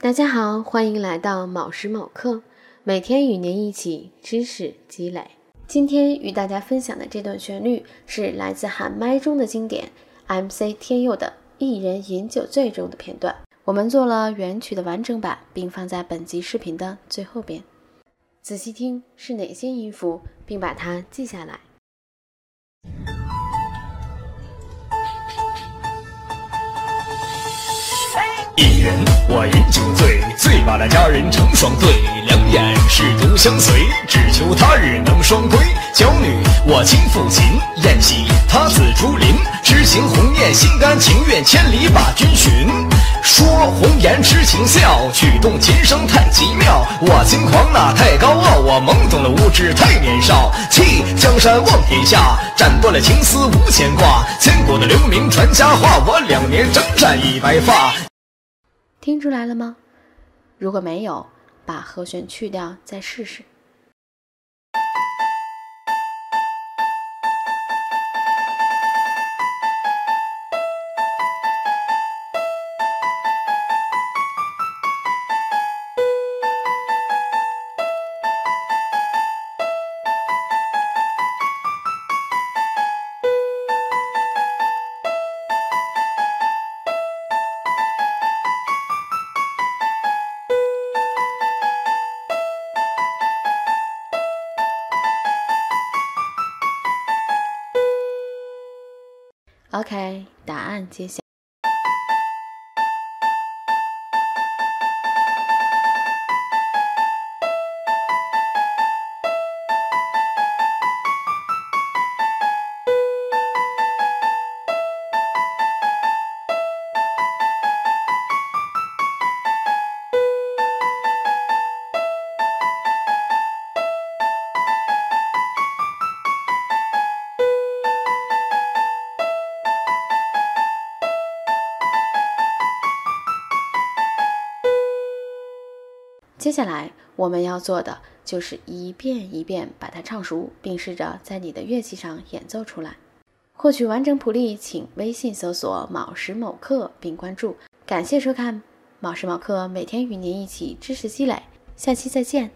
大家好，欢迎来到某时某刻，每天与您一起知识积累。今天与大家分享的这段旋律是来自喊麦中的经典 MC 天佑的一人饮酒醉中的片段，我们做了原曲的完整版，并放在本集视频的最后边，仔细听是哪些音符，并把它记下来。 一人我饮酒醉，醉把那佳人成双对，两眼是独相随，只求他日能双归。娇女我亲抚琴，宴席他自竹林，痴情鸿雁心甘情愿，千里把君寻。说红颜痴情笑，曲动琴声太奇妙。我轻狂那太高傲，我懵懂了无知太年少。弃江山望天下，斩断了情丝无牵挂。千古的留名传佳话，我2年征战一白发。 听出来了吗？如果没有，把和弦去掉再试试。OK， 答案揭晓。接下来我们要做的就是一遍一遍把它唱熟，并试着在你的乐器上演奏出来。获取完整谱例，请微信搜索某时某刻并关注。感谢收看某时某刻，每天与您一起知识积累，下期再见。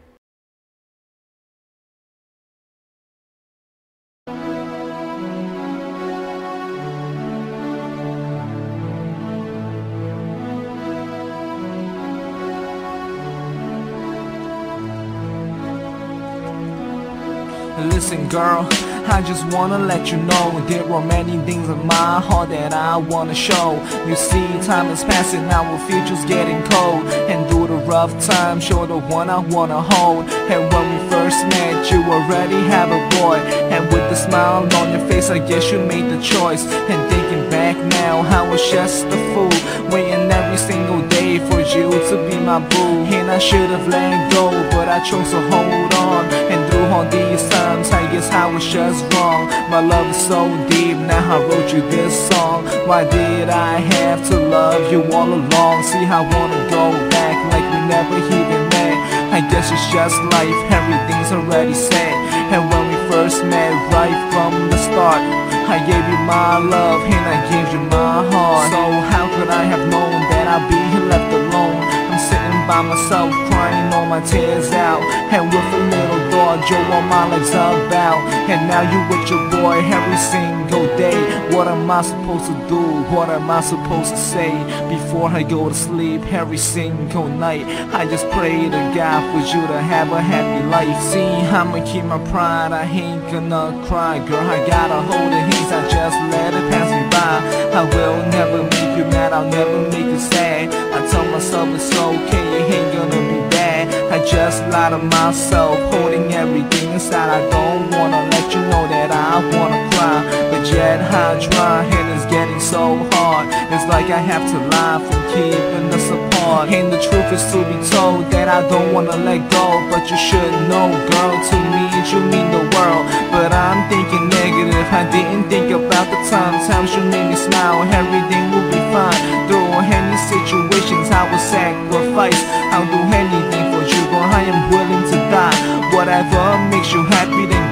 Listen girl, I just wanna let you know there are many things in my heart that I wanna show. You see, time is passing, our future's getting cold, and through the rough times, you're the one I wanna hold. And when we first met, you already have a boy, and with a smile on your face, I guess you made the choice. And thinking back now, I was just a fool, waiting every single day for you to be my boo. And I should've let go, but I chose to hold on. And through all these times, I guess I was just wrong. My love is so deep, now I wrote you this song. Why did I have to love you all along? See, I wanna go back like we never even met. I guess it's just life, everything's already set. And when we first met, right from the start, I gave you my love and I gave you my heart. So how could I have known that I'd be left alone? I'm sitting by myself, crying all my tears out, and with a little thought, you're what my life's about. And now you with your boy every single day. What am I supposed to do? What am I supposed to say before I go to sleep every single night? I just pray to God for you to have a happy life. See, I'ma keep my pride, I ain't gonna cry. Girl, I gotta hold the hands, I just let it pass me by. I will never make you mad, I'll never make you sad. I tell myself it's okay, it ain't gonna be bad. I just lie to myself, holding everything inside. I don't wanna let you know that I wanna cry, but yet I try, and it's getting so hard. It's like I have to lie from keeping us apart. And the truth is to be told that I don't wanna let go, but you should know, girl, to me you mean the world. But I'm thinking negative, I didn't think about the times you made me smile. Everything will be fine through any situations. I will sacrifice, I'll do anything for you, girl, I am willing to die. Whatever makes you happy, then girl,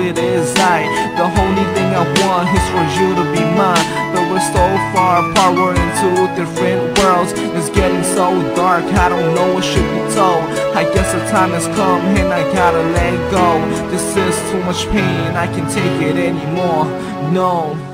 it is the only thing I want is for you to be mine. But we're so far apart, we're in two different worlds. It's getting so dark, I don't know what should be told. I guess the time has come and I gotta let go. This is too much pain, I can't take it anymore, no.